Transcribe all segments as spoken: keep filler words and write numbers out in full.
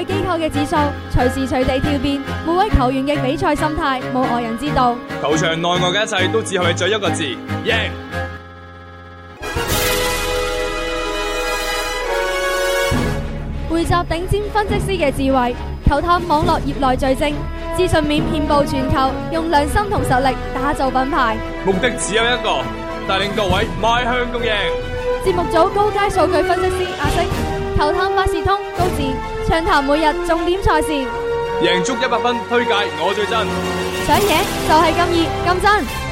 據機構嘅指數，隨時隨地跳變，每位球員嘅比賽心態冇外人知道。 球場內外嘅一切都只係在一個字：贏。 匯集頂尖分析師嘅智慧，球探網絡業內最精，資訊面遍佈全球，用良心同實力打造品牌。 目的只有一個，帶領各位邁向共贏。 節目組高階數據分析師阿星，球探百事通高智，暢談每日重點賽事， 贏足一百分，推介我最真， 想贏就係咁易咁真。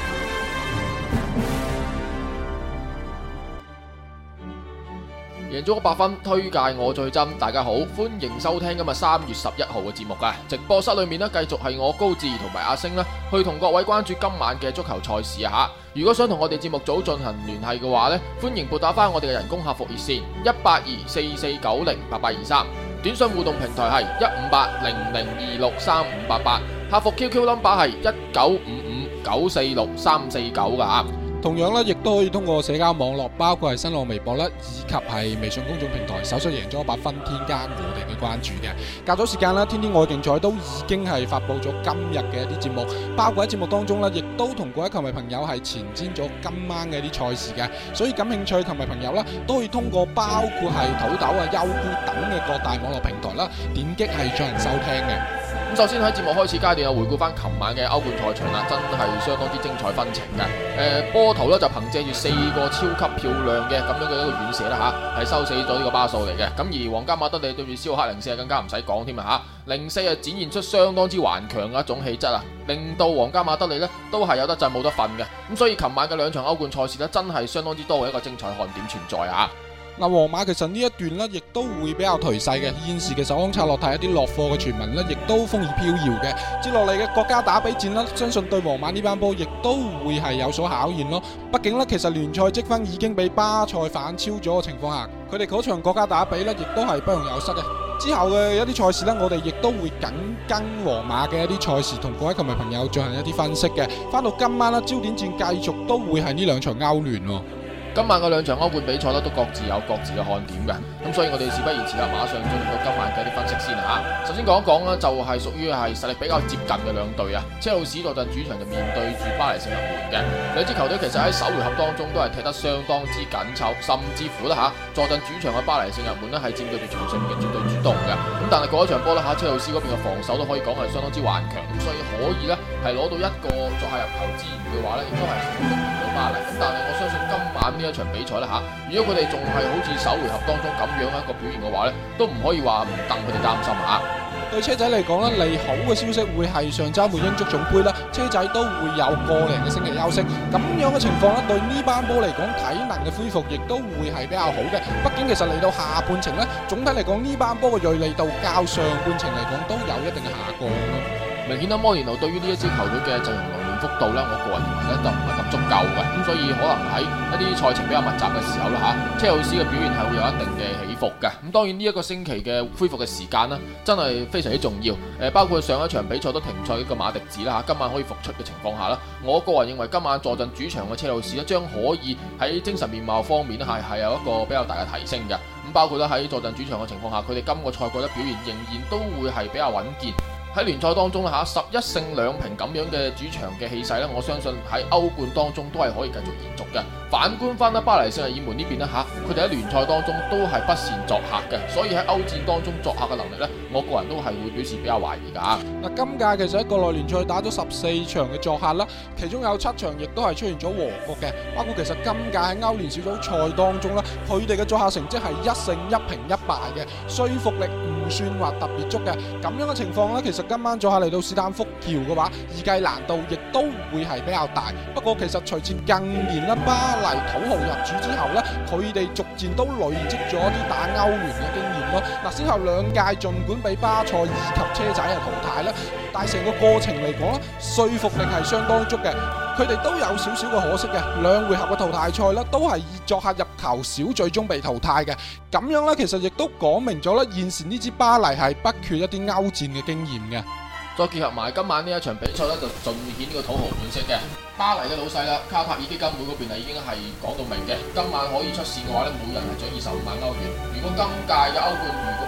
贏足一百分，推介我最真。大家好，歡迎收聽今日三月十一號嘅節目啊！直播室裏面呢，繼續係我高智同埋阿星呢，去同各位關注今晚嘅足球賽事啊！吓，如果想同我哋節目組進行聯繫嘅話呢，歡迎撥打翻我哋嘅人工客服熱線一八二四四九零八八二三，短信互動平台係一五八零零二六三五八八，客服 Q Q number 係一九五五九四六三四九噶吓。 同樣咧，亦都可以通過社交網絡，包括係新浪微博啦，以及係微信公眾平台，搜索贏足一百分，添加我哋嘅關注嘅。較早時間啦，天天愛競彩都已經係發布咗今日嘅一啲節目，包括喺節目當中咧，亦都同各位球迷朋友係前瞻咗今晚嘅一啲賽事嘅。所以感興趣球迷朋友啦，都可以通過包括係土豆啊、優酷等嘅各大網絡平台啦，點擊係進行收聽嘅。 咁首先喺節目開始階段啊，回顧翻琴晚嘅歐冠賽場啦，真係相當之精彩紛呈嘅。誒、呃，波圖咧就憑借住四個超級漂亮嘅咁樣嘅一個遠射啦吓，係收死咗呢個巴素嚟嘅。咁而皇家馬德里對住斯奧克零四更加唔使講添啊吓，零四啊展現出相當之頑強嘅一種氣質啊，令到皇家馬德里呢都係有得震冇得瞓嘅。咁所以琴晚嘅兩場歐冠賽事呢，真係相當之多嘅一個精彩看點存在啊！ 嗱，皇馬其實呢一段呢，亦都會比較頹勢嘅。現時嘅首康策落睇一啲落貨嘅傳聞呢，亦都風雨飄搖嘅。接落嚟嘅國家打比戰啦，相信對皇馬呢班波亦都會係有所考驗咯。畢竟呢，其實聯賽積分已經被巴塞反超咗嘅情況下，佢哋嗰場國家打比呢，亦都係不容有失嘅。之後嘅一啲賽事呢，我哋亦都會緊跟皇馬嘅一啲賽事，同各位球迷朋友進行一啲分析嘅。翻到今晚啦，焦點戰繼續都會係呢兩場歐聯喎。 今晚嘅兩場歐冠比賽咧，都各自有各自嘅看點嘅，咁所以我哋事不宜遲啦，馬上進入到今晚嘅一啲分析先啦吓。首先講一講啦，就係屬於係實力比較接近嘅兩隊啊。車路士坐鎮主場就面對住巴黎聖日門嘅兩支球隊，其實喺首回合當中都係踢得相當之緊湊，甚至乎啦吓，坐鎮主場嘅巴黎聖日門咧係佔據住場上面嘅絕對主動嘅。咁但係嗰一場波啦吓，車路士嗰邊嘅防守都可以講係相當之頑強，咁所以可以咧係攞到一個作客入球之餘嘅話咧，亦都係送到巴黎。咁但係我相信今晚呢一場比賽啦吓，如果佢哋仲係好似首回合當中咁樣一個表現嘅話咧，都唔可以話唔戥佢哋擔心吓。 對車仔嚟講咧，利好嘅消息會係上周末英足總杯啦，車仔都會有個零嘅星期休息，咁樣嘅情況咧，對呢班波嚟講體能嘅恢復亦都會係比較好嘅。畢竟其實嚟到下半程咧，總體嚟講呢班波嘅銳利度較上半程嚟講都有一定嘅下降咯。 明顯啦，摩連奴對於呢一支球隊嘅陣容輪換幅度咧，我個人認為咧就唔係咁足夠嘅，咁所以可能喺一啲賽程比較密集嘅時候啦吓，車路士嘅表現係會有一定嘅起伏嘅。咁當然呢一個星期嘅恢復嘅時間呢，真係非常之重要。誒，包括上一場比賽都停賽嘅馬迪治啦吓，今晚可以復出嘅情況下啦，我個人認為今晚坐鎮主場嘅車路士咧，將可以喺精神面貌方面咧係係有一個比較大嘅提升嘅。咁包括咧喺坐鎮主場嘅情況下，佢哋今個賽季嘅表現仍然都會係比較穩健。喺聯賽當中啦吓，十一勝兩平咁樣嘅主場嘅氣勢咧，我相信喺歐冠當中都係可以繼續延續嘅。反觀翻啦巴黎聖日耳門呢邊咧吓，佢哋喺聯賽當中都係不善作客嘅，所以喺歐戰當中作客嘅能力咧，我個人都係會表示比較懷疑噶。 嗱，今屆其實喺國內聯賽打咗十四場嘅作客啦，其中有七場亦都係出現咗和局嘅，包括其實今屆喺歐聯小組賽當中啦，佢哋嘅作客成績係一勝一平一敗嘅，說服力唔算話特別足嘅。咁樣嘅情況咧，其實今晚作客嚟到史丹福橋嘅話，預計難度亦都會係比較大。不過其實隨住近年啦巴黎土豪入主之後咧，佢哋逐漸都累積咗啲打歐聯嘅經驗咯。嗱，先後兩屆盡管俾巴塞以及車仔係淘汰啦，但係成個過程嚟講咧，說服力係相當足嘅。佢哋都有少少嘅可惜嘅，兩回合嘅淘汰賽咧，都係以作客入球少，最終被淘汰嘅。咁樣咧，其實亦都講明咗咧，現時呢支巴黎係不缺一啲歐戰嘅經驗嘅。 再結合埋今晚呢一場比賽咧，就盡顯呢個土豪本色嘅。巴黎嘅老細啦，卡塔爾基金會嗰邊啊已經係講到明嘅，今晚可以出線嘅話咧，每人係獎二十五萬歐元。如果今屆嘅歐冠如果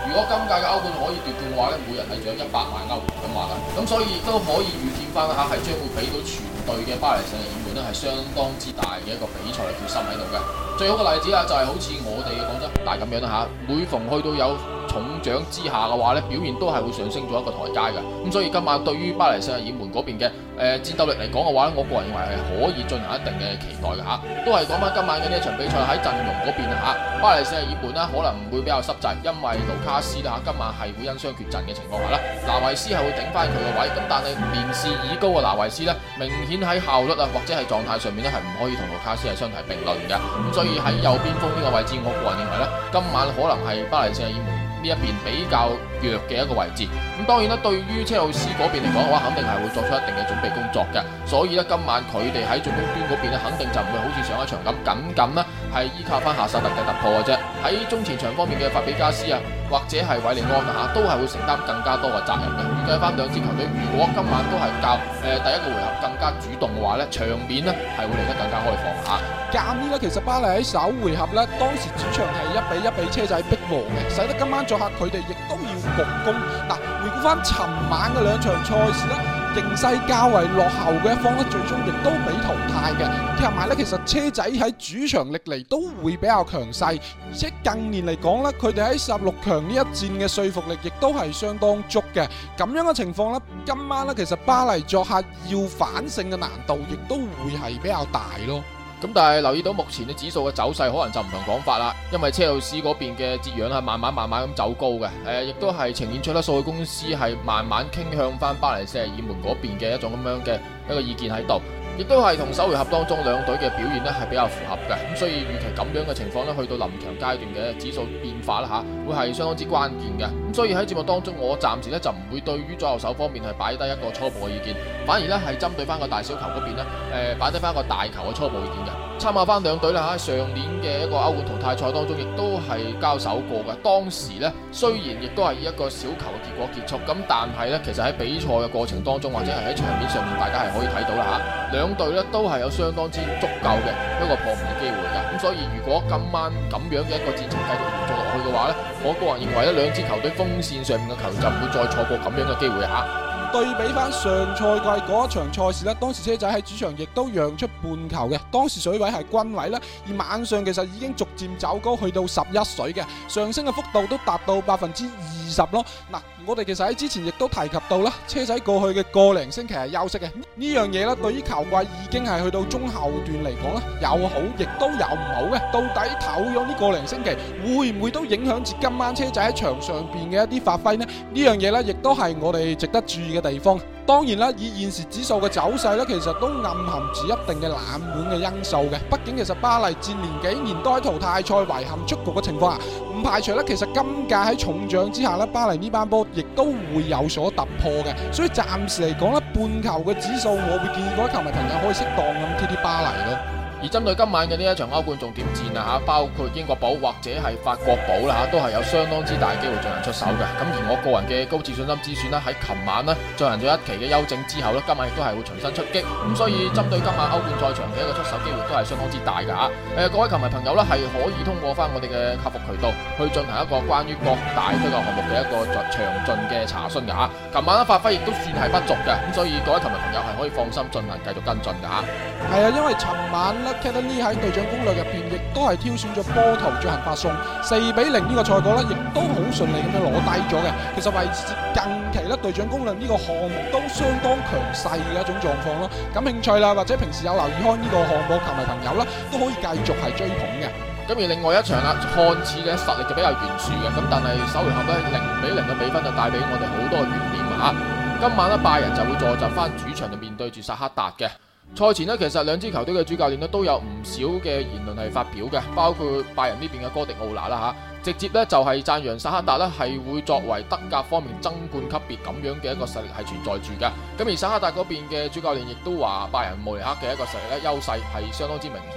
如果今屆嘅歐冠可以奪冠嘅話咧，每人係獎一百萬歐元咁話啦。咁所以亦都可以預見翻啦嚇，係將會俾到全隊嘅巴黎聖日耳門咧係相當之大嘅一個比賽嘅決心喺度嘅。最好嘅例子啊，就係好似我哋嘅廣州恒大咁樣啦嚇，每逢去到有重獎之下嘅話咧，表現都係會上升咗一個台階嘅。咁所以今晚對於巴黎聖日耳門嗰邊嘅誒、呃、戰鬥力嚟講嘅話咧，我個人認為係可以進行一定嘅期待嘅嚇。都係講翻今晚嘅呢一場比賽喺陣容嗰邊嚇，巴黎聖日耳門咧可能會比較濕滯，因為盧卡斯啦嚇今晚係會因傷缺陣嘅情況下啦，拿維斯係會頂翻佢嘅位。咁但係年事已高嘅拿維斯咧，明顯喺效率啊或者係狀態上面咧係唔可以同盧卡斯係相提並論嘅。咁所以喺右邊鋒呢個位置，我個人認為咧，今晚可能係巴黎聖日耳門呢一邊比較弱嘅一個位置。咁當然啦，對於車路士嗰邊嚟講嘅話，肯定係會作出一定嘅準備工作嘅。所以咧，今晚佢哋喺進攻端嗰邊咧，肯定就唔會好似上一場咁僅僅啦係依靠翻夏薩特嘅突破嘅啫。喺中前場方面嘅法比加斯啊，或者係韋利安啊嚇，都係會承擔更加多嘅責任嘅。預計翻兩支球隊，如果今晚都係較誒、呃、第一個回合更加主動嘅話咧，場面呢係會嚟得更加開放嚇。 鑑於咧，其實巴黎喺首回合咧，當時主場係一比一比車仔逼和嘅，使得今晚作客佢哋亦都要焗攻。嗱，回顧翻尋晚嘅兩場賽事咧，形勢較為落後嘅一方咧，最終亦都被淘汰嘅。加埋咧，其實車仔喺主場歷嚟都會比較強勢，而且近年嚟講咧，佢哋喺十六強呢一戰嘅說服力亦都係相當足嘅。咁樣嘅情況咧，今晚咧其實巴黎作客要反勝嘅難度亦都會係比較大咯。 咁但係留意到目前嘅指數嘅走勢可能就唔同講法啦，因為車路士嗰邊嘅折讓係慢慢慢慢咁走高嘅，誒、呃、亦都係呈現出咧數據公司係慢慢傾向翻巴黎聖日耳門嗰邊嘅一種咁樣嘅一個意見喺度。亦都係同首回合當中兩隊嘅表現咧係比較符合嘅，咁所以預期咁樣嘅情況咧，去到臨場階段嘅指數變化啦嚇，會係相當之關鍵嘅。咁所以喺節目當中，我暫時咧就唔會對於左右手方面係擺低一個初步嘅意見，反而咧係針對翻個大小球嗰邊咧，誒擺低翻一個大球嘅初步意見嘅。參考翻兩隊啦嚇，上年嘅一個歐冠淘汰賽當中，亦都係交手過嘅。當時咧雖然亦都係以一個小球嘅結果結束，咁但係咧其實喺比賽嘅過程當中，或者係喺場面上面，大家係可以睇到啦嚇，兩隊咧都係有相當之足夠嘅一個破門嘅機會㗎。咁所以如果今晚咁樣嘅一個戰情繼續延續落去嘅話咧，我個人認為咧兩支球隊鋒線上面嘅球員就唔會再錯過咁樣嘅機會嚇。 對比翻上賽季嗰一場賽事咧，當時車仔喺主場亦都讓出半球嘅，當時水位係均位啦，而晚上其實已經逐漸走高去到十一水嘅，上升嘅幅度都達到百分之二十咯。嗱，我哋其實喺之前亦都提及到啦，車仔過去嘅個零星期係休息嘅，呢樣嘢咧對於球季已經係去到中後段嚟講咧，有好亦都有唔好嘅。到底唞咗呢個零星期，會唔會都影響住今晚車仔喺場上邊嘅一啲發揮呢？呢樣嘢咧，亦都係我哋值得注意嘅地方。當然啦，以現時指數嘅走勢咧，其實都暗含住一定嘅冷門嘅因素嘅。畢竟其實巴黎戰年幾年都喺淘汰賽遺憾出局嘅情況下，唔排除咧其實今屆喺重獎之下咧，巴黎呢班波亦都會有所突破嘅。所以暫時嚟講咧，半球嘅指數，我會建議各位球迷朋友可以適當咁貼貼巴黎咯。 而針對今晚嘅呢一場歐冠重點戰啊嚇，包括英國寶或者係法國寶啦嚇，都係有相當之大機會進行出手嘅。咁而我個人嘅高自信心之選啦，喺琴晚呢進行咗一期嘅休整之後呢，今晚亦都係會重新出擊。咁所以針對今晚歐冠賽場嘅一個出手機會都係相當之大嘅嚇。誒，各位球迷朋友呢，係可以通過翻我哋嘅客服渠道去進行一個關於各大推介項目嘅一個詳盡嘅查詢嘅嚇。琴晚嘅發揮亦都算係不俗嘅，咁所以各位球迷朋友係可以放心進行繼續跟進嘅嚇。 係啊，因為尋晚Academy 喺隊長攻略入邊，亦都係挑選咗波圖進行發送，四比零呢個賽果咧，亦都好順利咁樣攞低咗嘅。其實為近期咧隊長攻略呢個項目都相當強勢嘅一種狀況咯。感興趣啦，或者平時有留意開呢個項目球迷朋友啦，都可以繼續係追捧嘅。 咁而另外一場啊，看似嘅實力就比較懸殊嘅，咁但係首回合咧零比零嘅比分就帶俾我哋好多嘅懸念啊！今晚咧拜仁就會坐鎮翻主場就面對住薩克達嘅。賽前呢，其實兩支球隊嘅主教練呢都有唔少嘅言論係發表嘅，包括拜仁呢邊嘅哥迪奧拿啦嚇，直接呢就係讚揚薩克達呢係會作為德甲方面爭冠級別咁樣嘅一個實力係存在住嘅。咁而薩克達嗰邊嘅主教練亦都話拜仁慕尼黑嘅一個實力咧優勢係相當之明顯。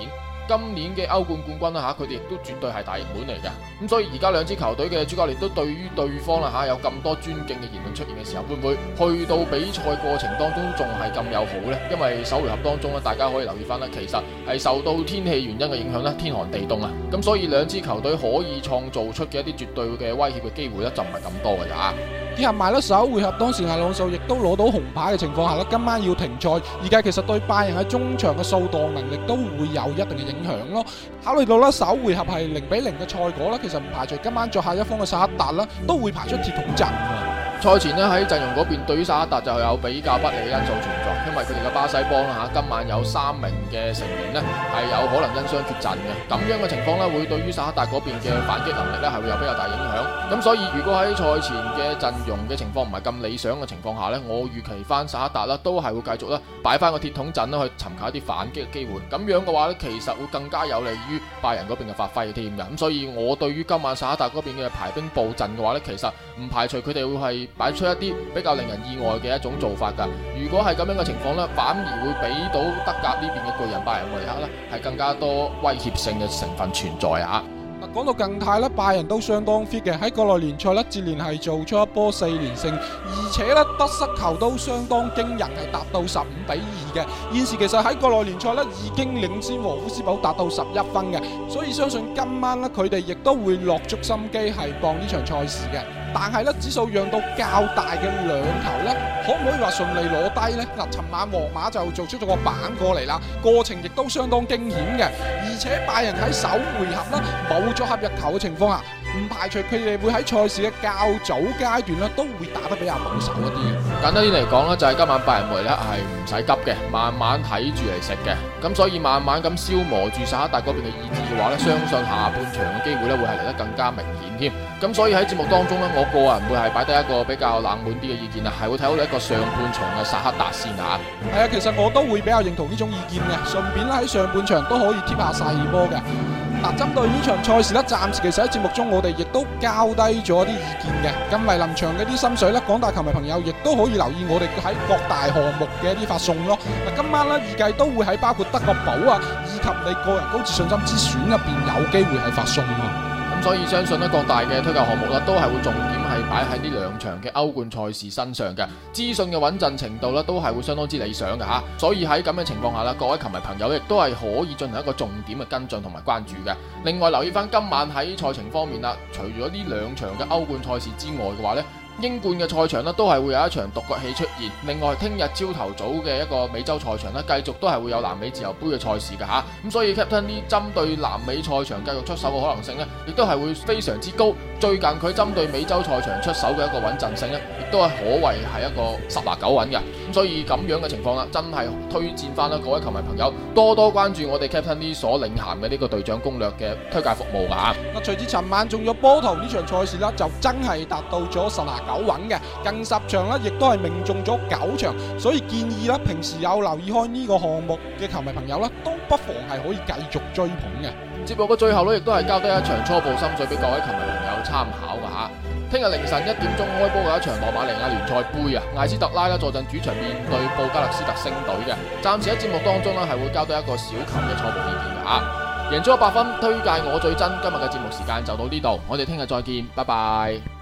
今年嘅歐冠冠軍啦嚇，佢哋亦都絕對係大熱門嚟嘅。咁所以而家兩支球隊嘅主教練都對於對方啦嚇有咁多尊敬嘅言論出現嘅時候，會唔會去到比賽過程當中仲係咁友好呢？因為首回合當中咧，大家可以留意翻啦，其實係受到天氣原因嘅影響咧，天寒地凍啊，咁所以兩支球隊可以創造出嘅一啲絕對嘅威脅嘅機會咧，就唔係咁多嘅咋。 結合埋咧首回合當時阿朗素亦都攞到紅牌嘅情況下咧，今晚要停賽，而家其實對拜仁喺中場嘅掃蕩能力都會有一定嘅影響咯。考慮到咧首回合係零比零嘅賽果咧，其實唔排除今晚作客一方嘅薩克達啦，都會排出鐵桶陣。 賽前咧喺陣容嗰邊，對於薩克達就有比較不利嘅因素存在，因為佢哋嘅巴西幫啦嚇，今晚有三名嘅成員呢係有可能因傷缺陣嘅，咁樣嘅情況呢，會對於薩克達嗰邊嘅反擊能力呢係會有比較大影響。咁所以如果喺賽前嘅陣容嘅情況唔係咁理想嘅情況下呢，我預期翻薩克達啦都係會繼續咧擺翻個鐵桶陣啦去尋求一啲反擊嘅機會。咁樣嘅話呢，其實會更加有利於拜仁嗰邊嘅發揮添嘅。咁所以我對於今晚薩克達嗰邊嘅排兵布陣嘅話呢，其實唔排除佢哋會係擺出一啲比較令人意外嘅一種做法㗎。如果係咁樣嘅情況呢，反而會俾到德甲呢邊嘅巨人拜仁慕尼黑呢係更加多威脅性嘅成分存在啊！ 嗱，講到近態咧，拜仁都相當 fit 嘅，喺國內聯賽咧接連係做出一波四連勝，而且咧得失球都相當驚人，係達到十五比二嘅。現時其實喺國內聯賽咧已經領先和夫斯堡達到十一分嘅，所以相信今晚咧佢哋亦都會落足心機係幫呢場賽事嘅。但係咧指數讓到較大嘅兩球咧，可唔可以話順利攞低呢？嗱，尋晚皇馬就做出咗個板過嚟啦，過程亦都相當驚險嘅，而且拜仁喺首回合咧冇咗合入球嘅情況下，唔排除佢哋會喺賽事嘅較早階段咧都會打得比較保守一啲。 簡單啲嚟講咧，就係今晚拜仁慕尼黑係唔使急嘅，慢慢睇住嚟食嘅。咁所以慢慢咁消磨住薩克達嗰邊嘅意志嘅話咧，相信下半場嘅機會咧會係嚟得更加明顯添。咁所以喺節目當中咧，我個人會係擺低一個比較冷門啲嘅意見啊，係會睇好你一個上半場嘅薩克達先啊。 係啊，其實我都會比較認同呢種意見嘅，順便咧喺上半場都可以貼下細波嘅。嗱，針對呢場賽事咧，暫時其實喺節目中我哋亦都交低咗一啲意見嘅。咁嚟臨場嘅啲心水咧，廣大球迷朋友亦都可以留意我哋喺各大項目嘅一啲發送咯。嗱，今晚咧預計都會喺包括德國寶啊，以及你個人高自信心之選入邊有機會係發送啊。 咁所以相信咧各大嘅推介項目咧都係會重點係擺喺呢兩場嘅歐冠賽事身上嘅，資訊嘅穩陣程度咧都係會相當之理想嘅吓。所以喺咁嘅情況下啦，各位球迷朋友亦都係可以進行一個重點嘅跟進同埋關注嘅。另外留意翻今晚喺賽程方面啦，除咗呢兩場嘅歐冠賽事之外嘅話呢，英冠嘅賽場呢都係會有一場獨角戲出現。另外聽日朝頭早嘅一個美洲賽場呢，繼續都係會有南美自由杯嘅賽事嘅吓。咁所以 Captain 呢針對南美賽場繼續出手嘅可能性呢，亦都係會非常之高。最近佢針對美洲賽場出手嘅一個穩陣性呢，亦都係可謂係一個十拿九穩嘅。咁所以咁樣嘅情況啦，真係推薦翻啦各位球迷朋友多多關注我哋 Captain 呢所領銜嘅呢個隊長攻略嘅推介服務噶吓。 嗱，隨住尋晚中咗波頭呢場賽事啦，就真係達到咗十拿九穩嘅，近十場啦，亦都係命中咗九場，所以建議啦，平時有留意開呢個項目嘅球迷朋友啦，都不妨係可以繼續追捧嘅。 節目嘅最後咧，亦都係交低一場初步心水俾各位球迷朋友參考噶吓。聽日凌晨一點鐘開波嘅一場羅馬尼亞聯賽杯啊，艾斯特拉啦坐鎮主場面對布加勒斯特星隊嘅。暫時喺節目當中咧係會交低一個小球嘅初步意見噶吓。贏足一百分，推介我最真。今日嘅節目時間就到呢度，我哋聽日再見，拜拜。